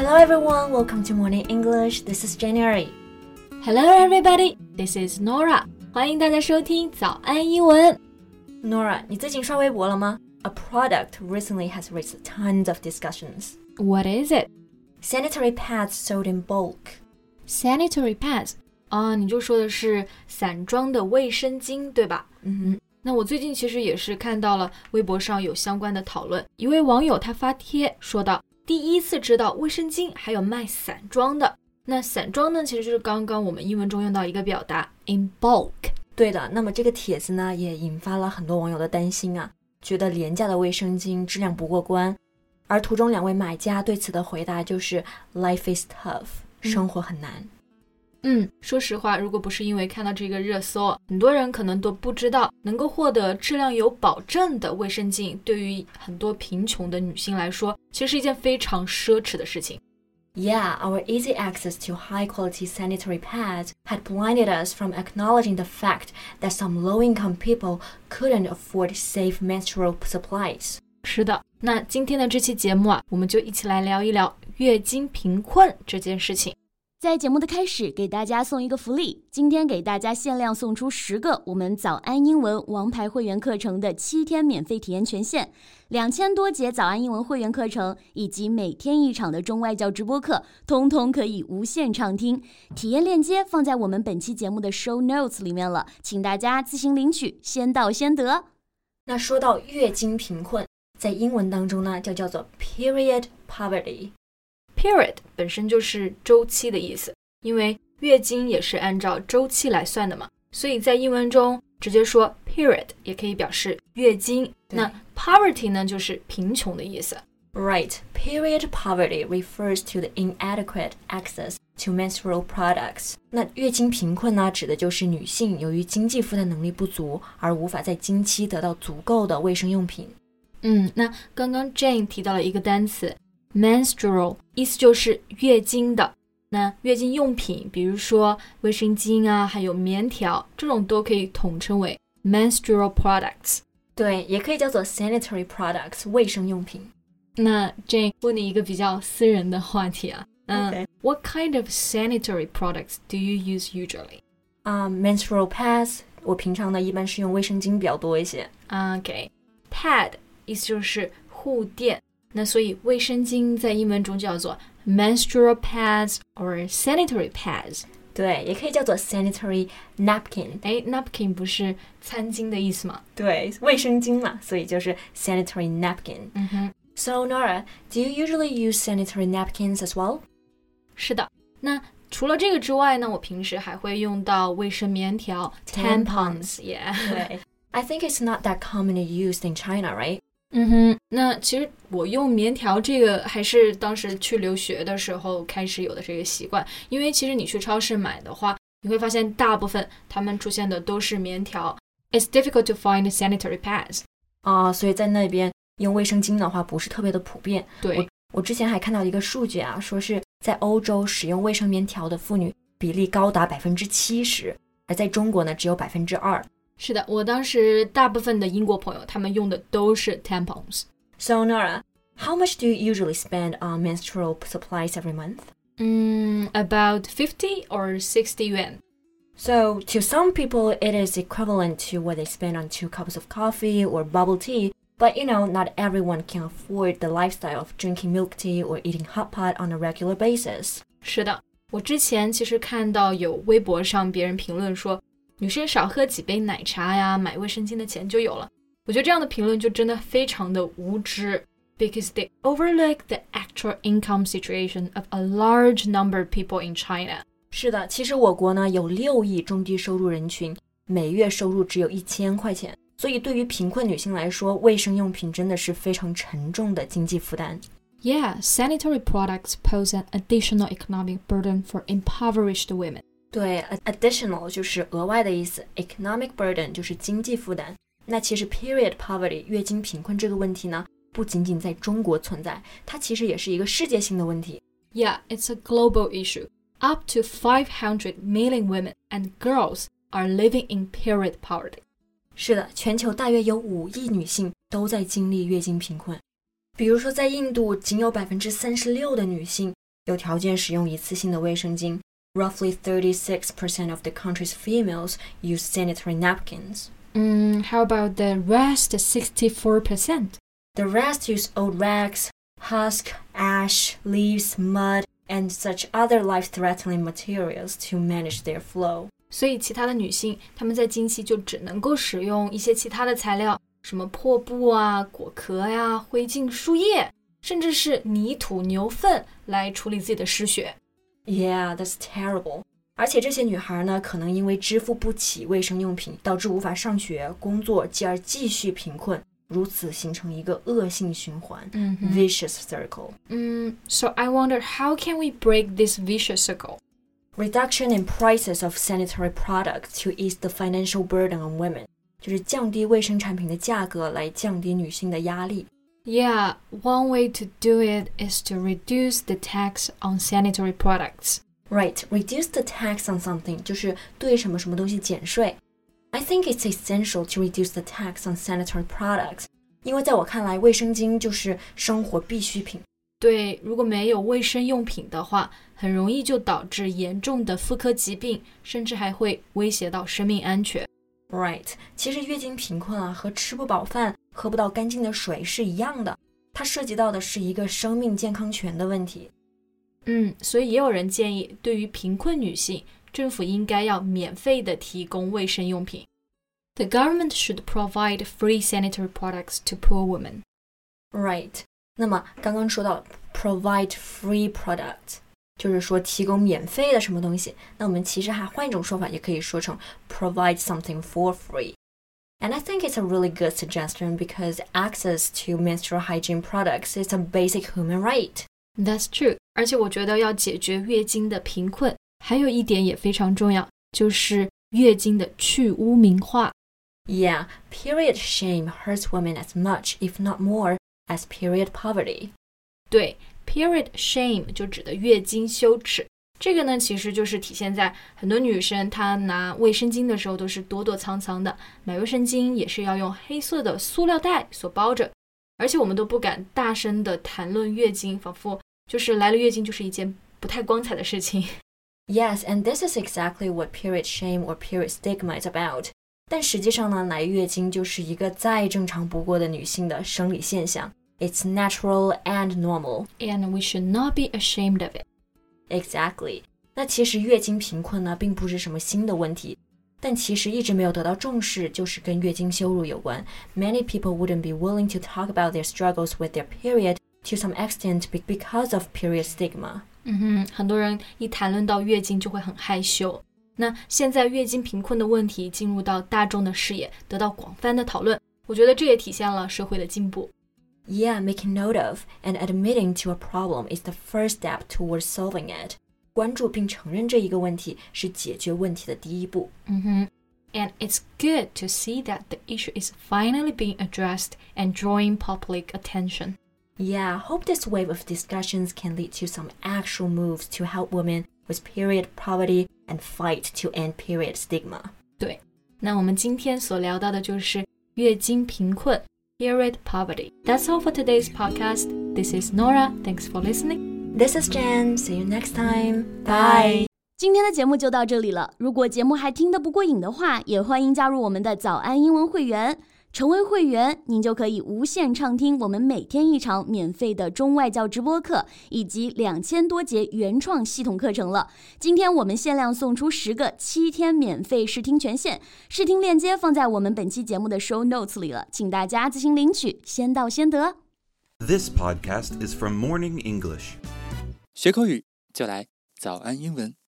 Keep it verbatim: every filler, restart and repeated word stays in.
Hello everyone, welcome to Morning English. This is January. Hello everybody, this is Nora. 欢迎大家收听早安英文。 Nora, 你最近刷微博了吗？ A product recently has raised tons of discussions. What is it? Sanitary pads sold in bulk. Sanitary pads? 啊，你就说的是散装的卫生巾，对吧？ 嗯， 那我最近其实也是看到了微博上有相关的讨论，一位网友他发帖说到，第一次知道卫生巾还有卖散装的。那散装呢，其实就是刚刚我们英文中用到一个表达 in bulk。 对的，那么这个帖子呢，也引发了很多网友的担心啊，觉得廉价的卫生巾质量不过关。而图中两位买家对此的回答就是 Life is tough， 生活很难。 嗯，说实话，如果不是因为看到这个热搜，很多人可能都不知道能够获得质量有保证的卫生巾，对于很多贫穷的女性来说，其实是一件非常奢侈的事情。 Yeah, our easy access to high-quality sanitary pads had blinded us from acknowledging the fact that some low-income people couldn't afford safe menstrual supplies. 是的，那今天的这期节目啊，我们就一起来聊一聊月经贫困这件事情。 在节目的开始，给大家送一个福利，今天给大家限量送出十个我们早安英文王牌会员课程的七天免费体验权限，两千多节早安英文会员课程以及每天一场的中外教直播课，通通可以无限畅听。体验链接放在我们本期节目的 show notes 里面了，请大家自行领取，先到先得。 那说到月经贫困，在英文当中呢，就叫做 period poverty。Period 本身就是周期的意思，因为月经也是按照周期来算的嘛，所以在英文中直接说 period 也可以表示月经。那 poverty 呢，就是贫穷的意思。 Right, period poverty refers to the inadequate access to menstrual products. 那月经贫困呢，指的就是女性由于经济负担能力不足，而无法在经期得到足够的卫生用品。 嗯，那刚刚 Jane 提到了一个单词menstrual， 意思就是月经的。那月经用品，比如说卫生巾啊，还有棉条，这种都可以统称为 menstrual products。 对，也可以叫做 sanitary products， 卫生用品。 那 Jane 问你一个比较私人的话题啊，嗯、 okay. What kind of sanitary products do you use usually? Um, menstrual pads， 我平常呢一般是用卫生巾比较多一些。 OK， pad 意思就是护垫。那所以卫生巾在英文中叫做 menstrual pads or sanitary pads。 对，也可以叫做 sanitary napkin。 诶 napkin 不是餐巾的意思吗？ 对，卫生巾嘛，所以就是 sanitary napkin。 嗯哼。 So Nora, do you usually use sanitary napkins as well? 是的，那除了这个之外呢，我平时还会用到卫生棉条 tampons。 Yeah. 对， I think it's not that commonly used in China, right? 嗯哼，那其实我用棉条这个还是当时去留学的时候开始有的这个习惯，因为其实你去超市买的话，你会发现大部分他们出现的都是棉条。It's difficult to find sanitary pads。 啊、uh, 所以在那边用卫生巾的话不是特别的普遍。 对， 我我之前还看到一个数据啊，说是在欧洲使用卫生棉条的妇女比例高达百分之七十，而在中国呢只有百分之二。 是的，我当时大部分的英国朋友他们用的都是 tampons。 So Nora, how much do you usually spend on menstrual supplies every month? Mm, about fifty or sixty yuan. So to some people it is equivalent to what they spend on two cups of coffee or bubble tea, but you know, not everyone can afford the lifestyle of drinking milk tea or eating hot pot on a regular basis. 是的，我之前其实看到有微博上别人评论说女生少喝几杯奶茶呀，买卫生巾的钱就有了。我觉得这样的评论就真的非常的无知 because they overlook the actual income situation of a large number of people in China。 是的，其实我国呢有六亿中低收入人群，每月收入只有一千块钱，所以对于贫困女性来说，卫生用品真的是非常沉重的经济负担。 Yeah, sanitary products pose an additional economic burden for impoverished women。 对 additional 就是额外的意思， economic burden 就是经济负担。那其实 period poverty 月经贫困这个问题呢，不仅仅在中国存在，它其实也是一个世界性的问题。 Yeah, it's a global issue. Up to five hundred million women and girls are living in period poverty. 是的，全球大约有五亿女性都在经历月经贫困。比如说在印度，仅有百分之三十六的女性有条件使用一次性的卫生巾。Roughly thirty-six percent of the country's females use sanitary napkins. Mm, how about the rest sixty-four percent? The rest use old rags, husk, ash, leaves, mud, and such other life-threatening materials to manage their flow. 所以其他的女性，她们在经期就只能够使用一些其他的材料，什么破布啊、果壳呀、灰烬、树叶，甚至是泥土、牛粪来处理自己的失血。 Yeah, that's terrible. 而且这些女孩呢，可能因为支付不起卫生用品，导致无法上学、工作，继而继续贫困，如此形成一个恶性循环、 嗯、 vicious circle. 嗯 So I wonder how can we break this vicious circle? Reduction in prices of sanitary products to ease the financial burden on women. 就是降低卫生产品的价格来降低女性的压力。 Yeah, one way to do it is to reduce the tax on sanitary products. Right, reduce the tax on something 就是对什么什么东西减税。I think it's essential to reduce the tax on sanitary products. 因为在我看来，卫生巾就是生活必需品。 对，如果没有卫生用品的话，很容易就导致严重的妇科疾病，甚至还会威胁到生命安全。 Right, 其实月经贫困啊，和吃不饱饭、喝不到干净的水是一样的，它涉及到的是一个生命健康权的问题。 嗯，所以也有人建议，对于贫困女性，政府应该要免费的提供卫生用品。The government should provide free sanitary products to poor women. Right, 那么刚刚说到 provide free product， 就是说提供免费的什么东西，那我们其实还换一种说法，也可以说成 provide something for free. And I think it's a really good suggestion because access to menstrual hygiene products is a basic human right. That's true. 而且我觉得要解决月经的贫困，还有一点也非常重要，就是月经的去污名化。 Yeah, period shame hurts women as much, if not more, as period poverty. 对 ，period shame 就指的月经羞耻。这个呢，其实就是体现在很多女生她拿卫生巾的时候都是躲躲藏藏的，买卫生巾也是要用黑色的塑料袋所包着，而且我们都不敢大声的谈论月经，仿佛就是来了月经就是一件不太光彩的事情。 Yes, and this is exactly what period shame or period stigma is about. 但实际上呢，来月经就是一个再正常不过的女性的生理现象。It's natural and normal. And we should not be ashamed of it. Exactly. 那其实月经贫困呢，并不是什么新的问题，但其实一直没有得到重视，就是跟月经羞辱有关。Many people wouldn't be willing to talk about their struggles with their period to some extent because of period stigma. 嗯哼，很多人一谈论到月经就会很害羞。那现在月经贫困的问题进入到大众的视野，得到广泛的讨论，我觉得这也体现了社会的进步。 Yeah, making note of and admitting to a problem is the first step towards solving it. 关注并承认这一个问题是解决问题的第一步。 嗯哼 And it's good to see that the issue is finally being addressed and drawing public attention. Yeah, hope this wave of discussions can lead to some actual moves to help women with period poverty and fight to end period stigma. 对，那我们今天所聊到的就是月经贫困 period poverty. That's all for today's podcast. This is Nora. Thanks for listening. This is Jen. See you next time. Bye. 今天的节目就到这里了。如果节目还听得不过瘾的话，也欢迎加入我们的早安英文会员。成为会员，您就可以无限畅听我们每天一场免费的中外教直播课，以及两千多节原创系统课程了。今天我们限量送出十个七天免费试听权限，试听链接放在我们本期节目的 show notes 里了，请大家自行领取，先到先得。 This podcast is from Morning English. 学口语就来早安英文。